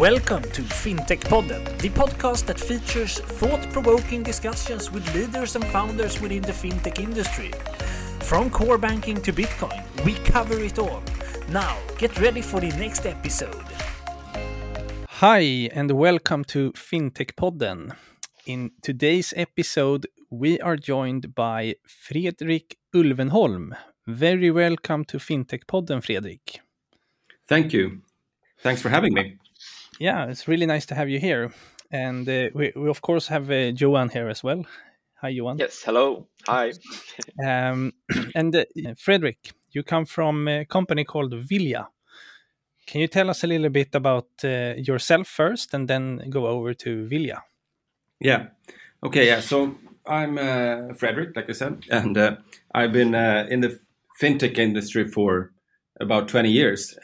Welcome to FinTech Podden, the podcast that features thought-provoking discussions with leaders and founders within the fintech industry. From core banking to Bitcoin, we cover it all. Now, get ready for the next episode. Hi, and welcome to FinTech Podden. In today's episode, we are joined by Fredrik Ulvenholm. Very welcome to FinTech Podden, Fredrik. Thank you. Thanks for having me. Yeah, it's really nice to have you here. And we of course have Johan here as well. Hi, Johan. Yes, hello. Hi. And Fredrik, you come from a company called Vilja. Can you tell us a little bit about yourself first and then go over to Vilja? Yeah. Okay. Yeah. So I'm Fredrik, like I said, and I've been in the fintech industry for about 20 years.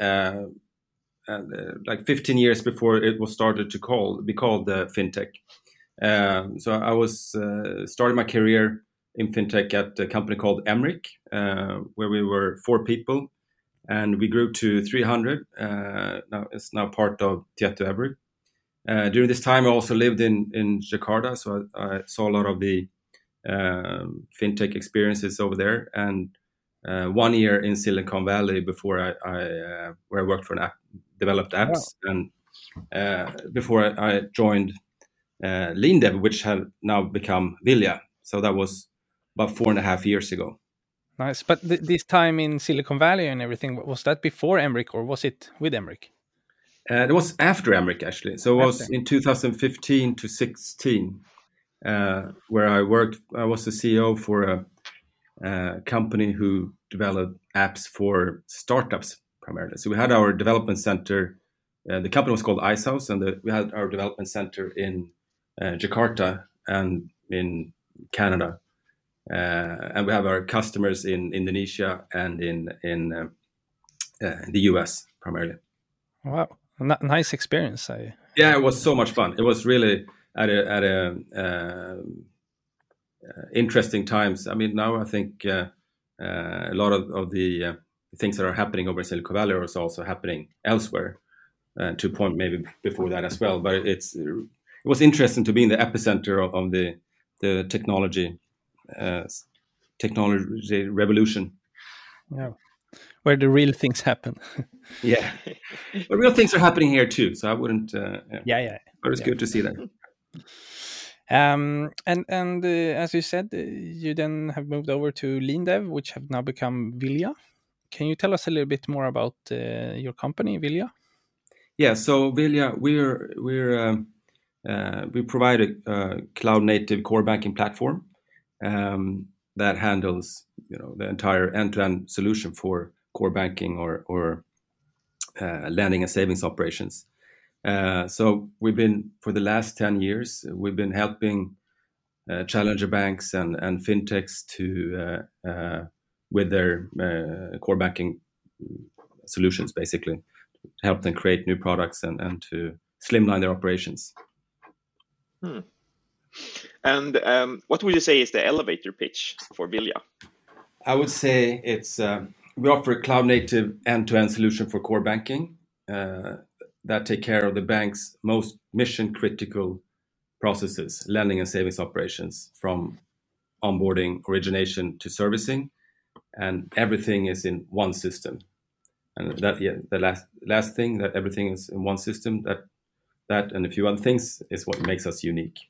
Like 15 years before it was started to be called fintech. So I was started my career in fintech at a company called Emric, where we were 4 people, and we grew to 300. Now it's now part of Tietoevry. During this time, I also lived in Jakarta, so I saw a lot of the fintech experiences over there, and 1 year in Silicon Valley before where I worked for an app, developed apps, and before I joined Lindev, which had now become Vilja. So that was about 4.5 years ago. Nice. But this time in Silicon Valley and everything, was that before Emric or was it with Emric? It was after Emric, actually. So it was in 2015 to 16, where I worked. I was the CEO for a company who developed apps for startups primarily. So we had our development center. The company was called Icehouse, and we had our development center in Jakarta and in Canada. And we have our customers in Indonesia and in the US primarily. Wow, nice experience. Yeah, it was so much fun. It was really at a interesting times. I mean, now I think a lot of the things that are happening over in Silicon Valley are also happening elsewhere. To a point maybe before that as well. But it was interesting to be in the epicenter of the technology revolution. Yeah, where the real things happen. Yeah, but real things are happening here too. So I wouldn't. Yeah. But it's good to see that. And as you said, you then have moved over to Lindev, which have now become Vilja. Can you tell us a little bit more about your company, Vilja? Yeah, so Vilja, we provide a cloud native core banking platform that handles the entire end-to-end solution for core banking or lending and savings operations. So we've been, for the last 10 years, we've been helping challenger banks and fintechs to with their core banking solutions, basically, to help them create new products and to slimline their operations. And what would you say is the elevator pitch for Vilja? I would say it's we offer a cloud-native end-to-end solution for core banking that take care of the bank's most mission-critical processes, lending and savings operations, from onboarding, origination to servicing, and everything is in one system. And the last thing, that everything is in one system, that and a few other things is what makes us unique.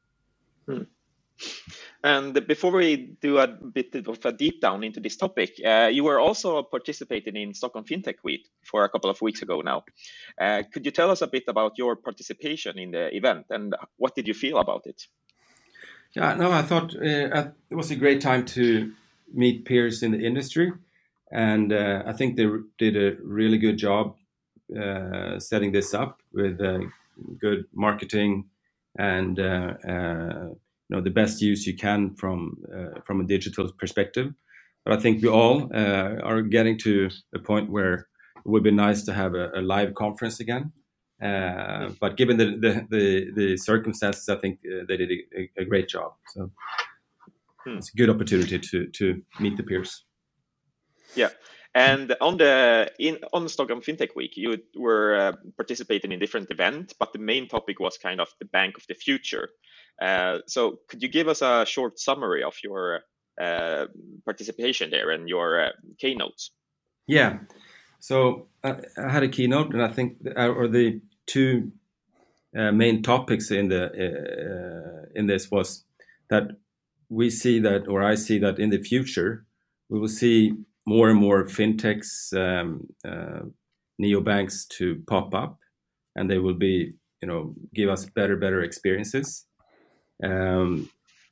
And before we do a bit of a deep down into this topic, you were also participating in Stockholm FinTech Week for a couple of weeks ago now. Could you tell us a bit about your participation in the event and what did you feel about it? Yeah, no, I thought it was a great time to meet peers in the industry. And I think they did a really good job setting this up with good marketing and the best use you can from a digital perspective. But I think we all are getting to a point where it would be nice to have a live conference again. But given the circumstances, I think they did a great job. So it's a good opportunity to meet the peers. Yeah. And on Stockholm FinTech Week, you were participating in different events, but the main topic was kind of the bank of the future. So could you give us a short summary of your participation there and your keynotes? Yeah. So I had a keynote, and I think the two main topics in this was that we see that, or I see that in the future, we will see more and more fintechs, neobanks to pop up, and they will be, give us better experiences. And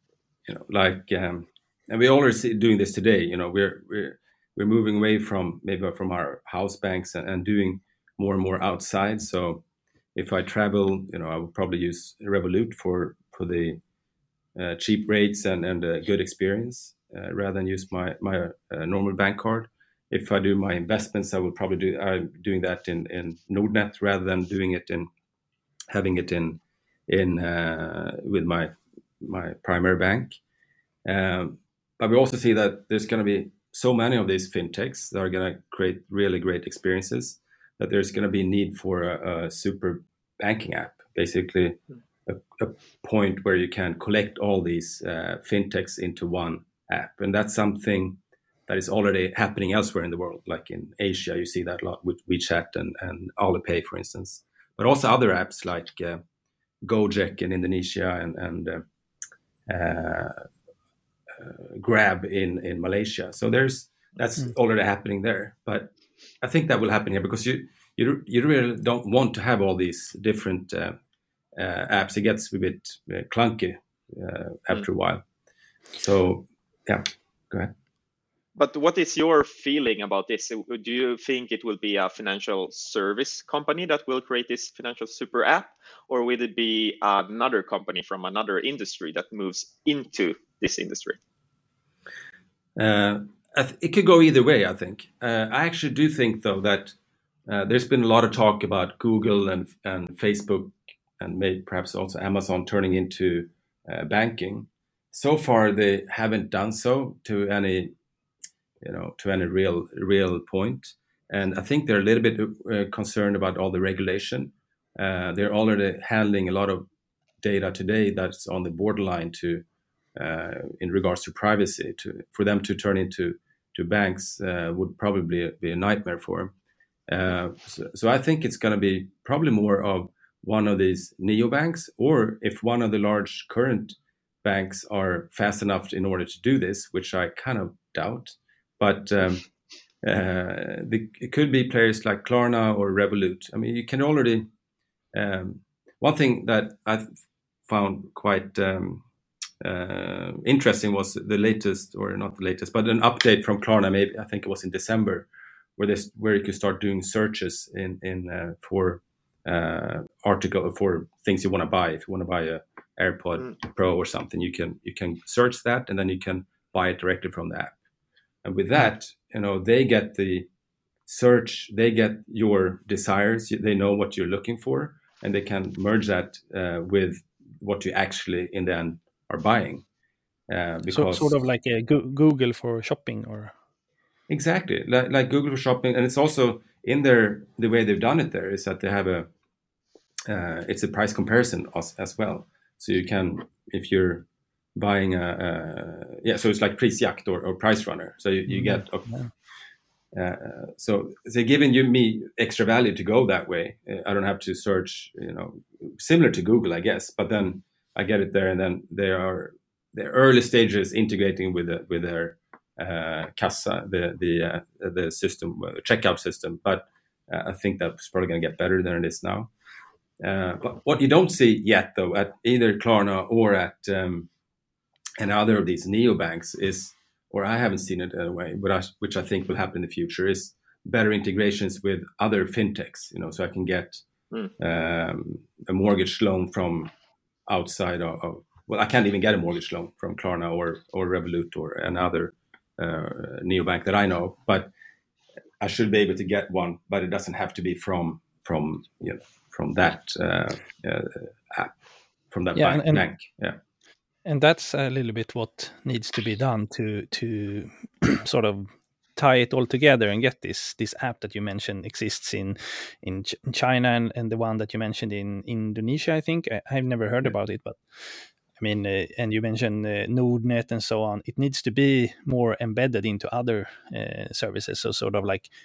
we already doing this today. We're moving away from our house banks and doing more and more outside. So if I travel, I will probably use Revolut for the cheap rates and a good experience rather than use my normal bank card. If I do my investments, I will probably I'm doing that in Nordnet rather than doing it having it in with my primary bank. But we also see that there's going to be so many of these fintechs that are going to create really great experiences that there's going to be a need for a super banking app, basically a point where you can collect all these fintechs into one app. And that's something that is already happening elsewhere in the world. Like in Asia, you see that a lot with WeChat and Alipay, for instance, but also other apps like Gojek in Indonesia and Grab in Malaysia. So that's already happening there. But I think that will happen here because you really don't want to have all these different apps. It gets a bit clunky after a while. So yeah, go ahead. But what is your feeling about this? Do you think it will be a financial service company that will create this financial super app, or will it be another company from another industry that moves into this industry? It could go either way, I think. I actually do think, though, that there's been a lot of talk about Google and Facebook and maybe perhaps also Amazon turning into banking. So far, they haven't done so to any real point. And I think they're a little bit concerned about all the regulation. They're already handling a lot of data today that's on the borderline in regards to privacy. For them to turn into banks would probably be a nightmare for them. So I think it's going to be probably more of one of these neobanks, or if one of the large current banks are fast enough in order to do this, which I kind of doubt. But it could be players like Klarna or Revolut. I mean, you can already. One thing that I found quite interesting was the latest, or not the latest, but an update from Klarna. Maybe I think it was in December, where you could start doing searches for article for things you want to buy. If you want to buy a AirPod Pro or something, you can search that, and then you can buy it directly from the app. And with that, they get the search, they get your desires, they know what you're looking for, and they can merge that with what you actually in the end are buying. Because sort of like a Google for shopping, or exactly like Google for shopping. And it's also in there, the way they've done it there is that they have it's a price comparison as well. So you can, if you're buying so it's like Prisjakt or Price Runner. So you get so they're giving me extra value to go that way. I don't have to search, similar to Google, I guess. But then I get it there, and then the early stages integrating with their Kassa, the system, checkout system. But I think that's probably going to get better than it is now. But what you don't see yet, though, at either Klarna or at and other of these neobanks is, or I haven't seen it in a way, but which I think will happen in the future, is better integrations with other fintechs. So I can get a mortgage loan from outside of. Well, I can't even get a mortgage loan from Klarna or Revolut or another neobank that I know, but I should be able to get one. But it doesn't have to be from that app, from that bank. Yeah. And that's a little bit what needs to be done to sort of tie it all together and get this app that you mentioned exists in China and the one that you mentioned in Indonesia, I think. I've never heard about it, but I mean, and you mentioned Nordnet and so on. It needs to be more embedded into other services, so sort of like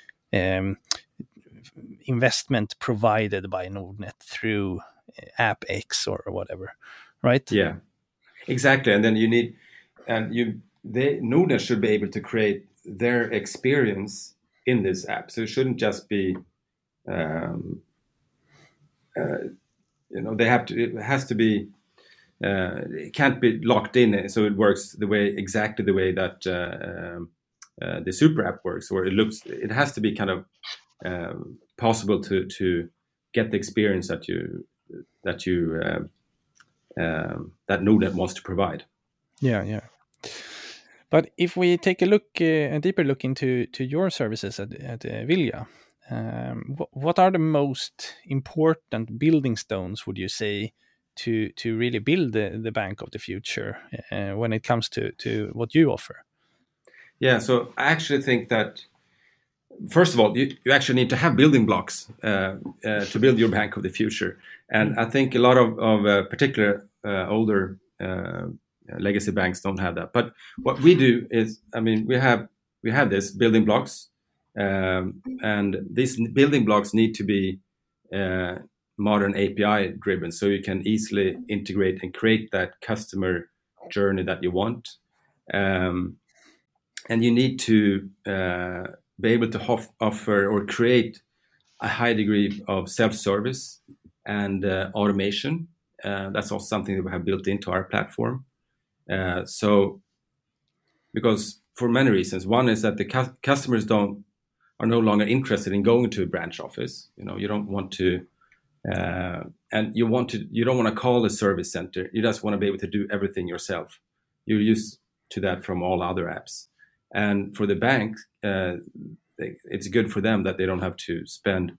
investment provided by Nordnet through app X or whatever, right? Yeah, exactly. And then Nordnet should be able to create their experience in this app. So it shouldn't just be, it has to be, it can't be locked in so it works exactly the way that the super app works, or it has to be kind of possible to get the experience that Nordnet wants to provide. Yeah. But if we take a deeper look into your services at Vilja, what are the most important building stones, would you say, to really build the bank of the future when it comes to what you offer? Yeah, so I actually think that, first of all, you actually need to have building blocks to build your bank of the future. And I think a lot of particular older legacy banks don't have that. But what we do is, I mean, we have this building blocks, and these building blocks need to be modern API driven, so you can easily integrate and create that customer journey that you want. And you need to be able to offer or create a high degree of self-service and automation. That's also something that we have built into our platform. So, because for many reasons, one is that the customers are no longer interested in going to a branch office. You don't want to, and you don't want to call a service center. You just want to be able to do everything yourself. You're used to that from all other apps. And for the bank, it's good for them that they don't have to spend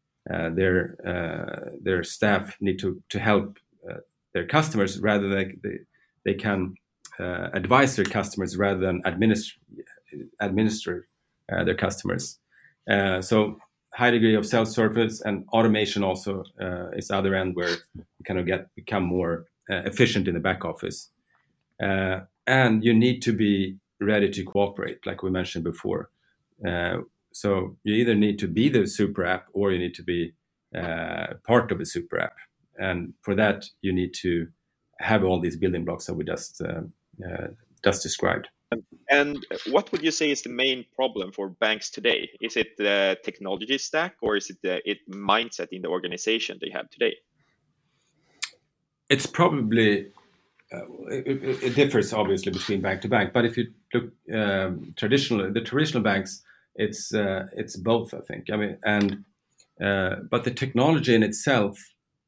their staff need to help their customers, rather than they can advise their customers rather than administer their customers. So high degree of self-service and automation also is the other end, where you kind of become more efficient in the back office. And you need to be ready to cooperate, like we mentioned before. So you either need to be the super app, or you need to be part of a super app. And for that, you need to have all these building blocks that we just described. And what would you say is the main problem for banks today? Is it the technology stack, or is it the mindset in the organization they have today? It's probably it differs obviously between bank to bank. But if you look the traditional banks, it's both, I think. I mean, and but the technology in itself,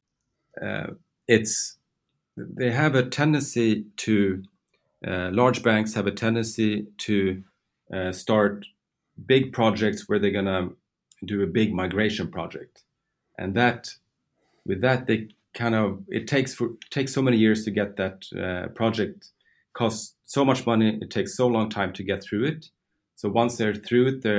they have a tendency to. Large banks have a tendency to start big projects where they're gonna do a big migration project, and with that they it takes so many years to get that project, costs so much money, it takes so long time to get through it. So once they're through it,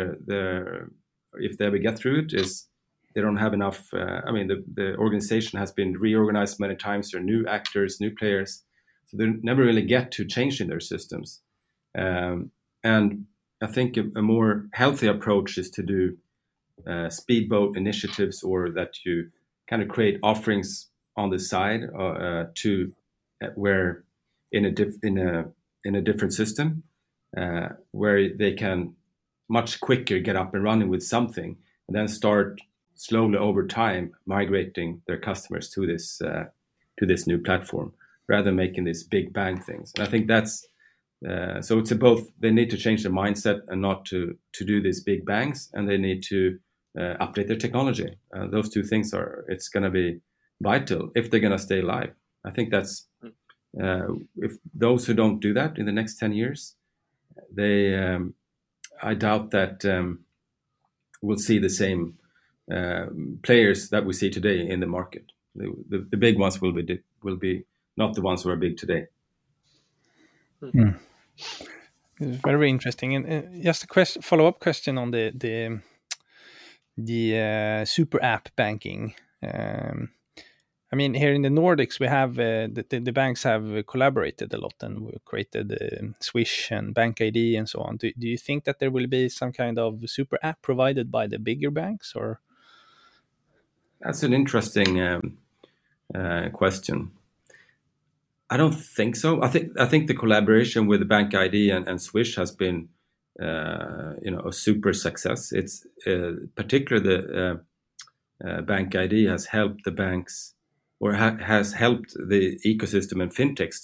if they ever get through it, they don't have enough. I mean, the organization has been reorganized many times. There are new actors, new players. So they never really get to changing their systems. And I think a more healthy approach is to do speedboat initiatives, or that you kind of create offerings on the side where in a different system, where they can much quicker get up and running with something, and then start slowly over time migrating their customers to this new platform, rather than making these big bang things. And I think that's so it's both. They need to change their mindset and not to do these big bangs, and they need to update their technology. Those two things it's going to be vital if they're going to stay alive. I think that's if those who don't do that in the next 10 years, I doubt that we'll see the same players that we see today in the market. The big ones will be not the ones who are big today. It's very interesting. And just a follow-up question on the super app banking. I mean, here in the Nordics, we have the banks have collaborated a lot, and we created Swish and Bank ID and so on. Do you think that there will be some kind of super app provided by the bigger banks, or? That's an interesting question. I don't think so. I think the collaboration with the Bank ID and Swish has been, a super success. It's particularly the Bank ID has helped the banks, or has helped the ecosystem and fintechs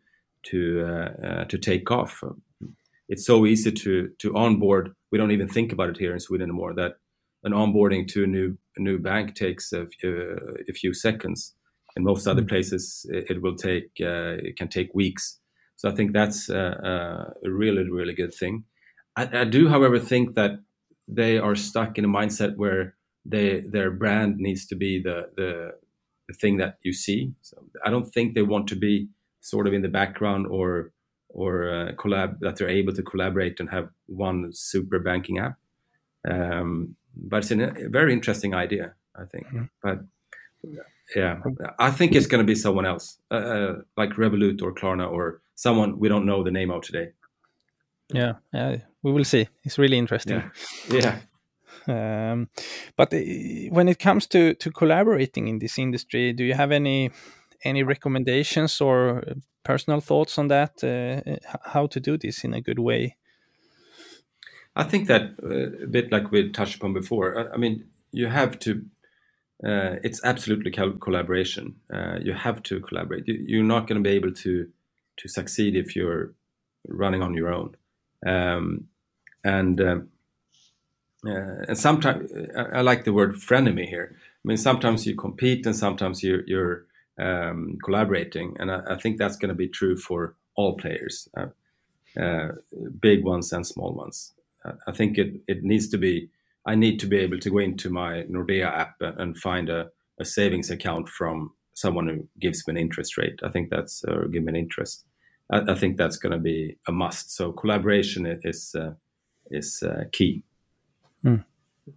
to take off. It's so easy to onboard. We don't even think about it here in Sweden anymore, that an onboarding to a new bank takes a few seconds. In most other places, it can take weeks. So I think that's a really, really good thing. I do, however, think that they are stuck in a mindset where their brand needs to be the thing that you see. So I don't think they want to be sort of in the background or that they're able to collaborate and have one super banking app. But it's a very interesting idea, I think. Mm-hmm. But yeah, I think it's going to be someone else, like Revolut or Klarna or someone we don't know the name of today. Yeah, we will see. It's really interesting. Yeah. But when it comes to collaborating in this industry, do you have any recommendations or personal thoughts on that? How to do this in a good way? I think that a bit like we touched upon before. I mean, you have to. It's absolutely collaboration. You have to collaborate. You're not going to be able to succeed if you're running on your own. And sometimes I like the word frenemy here. I mean, sometimes you compete and sometimes you're collaborating, and I think that's going to be true for all players, big ones and small ones. I think it needs to be. I need to be able to go into my Nordea app and find a savings account from someone who gives me an interest rate. I think that's or give me an interest. I think that's going to be a must. So collaboration is key. Mm.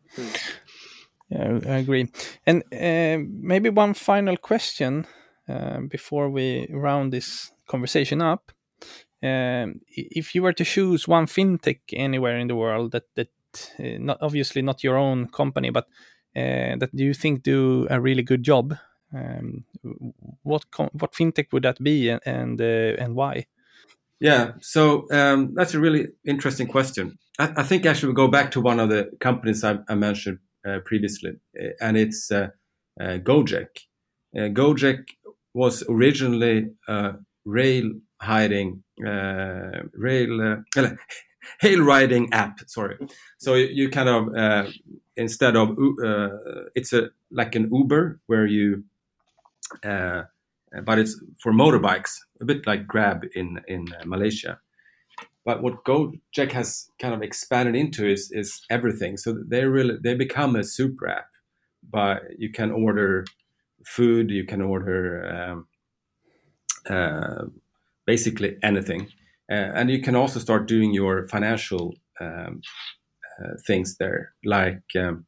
Yeah, I agree. And maybe one final question before we round this conversation up. If you were to choose one fintech anywhere in the world that not obviously not your own company, but that do you think do a really good job, what fintech would that be, and why? Yeah, so that's a really interesting question. I think actually we'll go back to one of the companies I mentioned previously, and it's Gojek. Gojek was originally hail riding app. Sorry, so you kind of instead of it's like an Uber where you. But it's for motorbikes, a bit like Grab in Malaysia. But what Gojek has kind of expanded into is everything. So they become a super app. But you can order food, you can order basically anything, and you can also start doing your financial things there, like.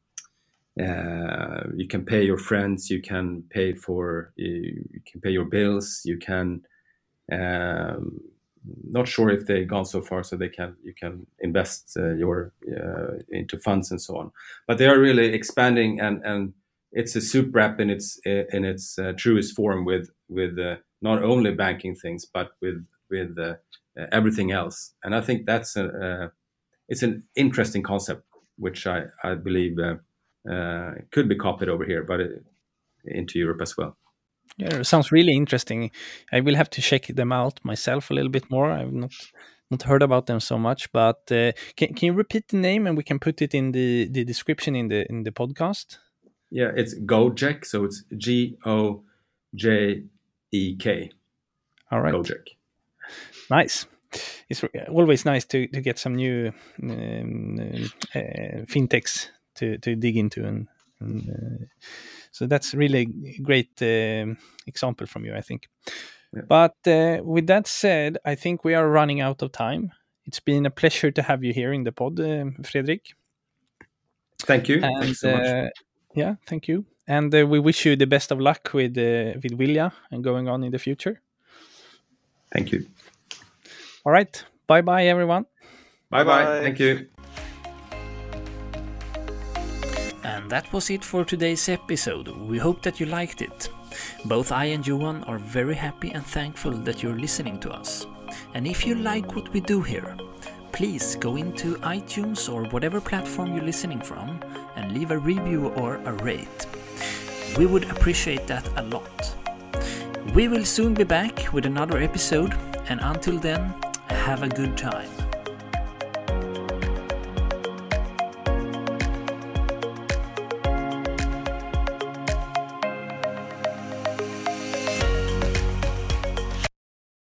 You can pay your friends. You can pay your bills. You can. Not sure if they've gone so far, so you can invest into funds and so on. But they are really expanding, and it's a super app in its truest form with not only banking things but with everything else. And I think that's it's an interesting concept, which I believe. Could be copied over here, but into Europe as well. Yeah, it sounds really interesting. I will have to check them out myself a little bit more. I've not heard about them so much, but can you repeat the name and we can put it in the description in the podcast? Yeah, it's Gojek, so it's Gojek. All right, Gojek. Nice. It's always nice to get some new fintechs to dig into, and so that's really a great example from you, I think. Yeah. But with that said, I think we are running out of time. It's been a pleasure to have you here in the pod, Fredrik. Thank you. And, Thanks so much. Yeah, thank you. And we wish you the best of luck with Vilja and going on in the future. Thank you. All right. Bye-bye, everyone. Bye-bye. Thank you. And that was it for today's episode. We hope that you liked it. Both I and Johan are very happy and thankful that you're listening to us. And if you like what we do here, please go into iTunes or whatever platform you're listening from and leave a review or a rate. We would appreciate that a lot. We will soon be back with another episode, and until then, have a good time.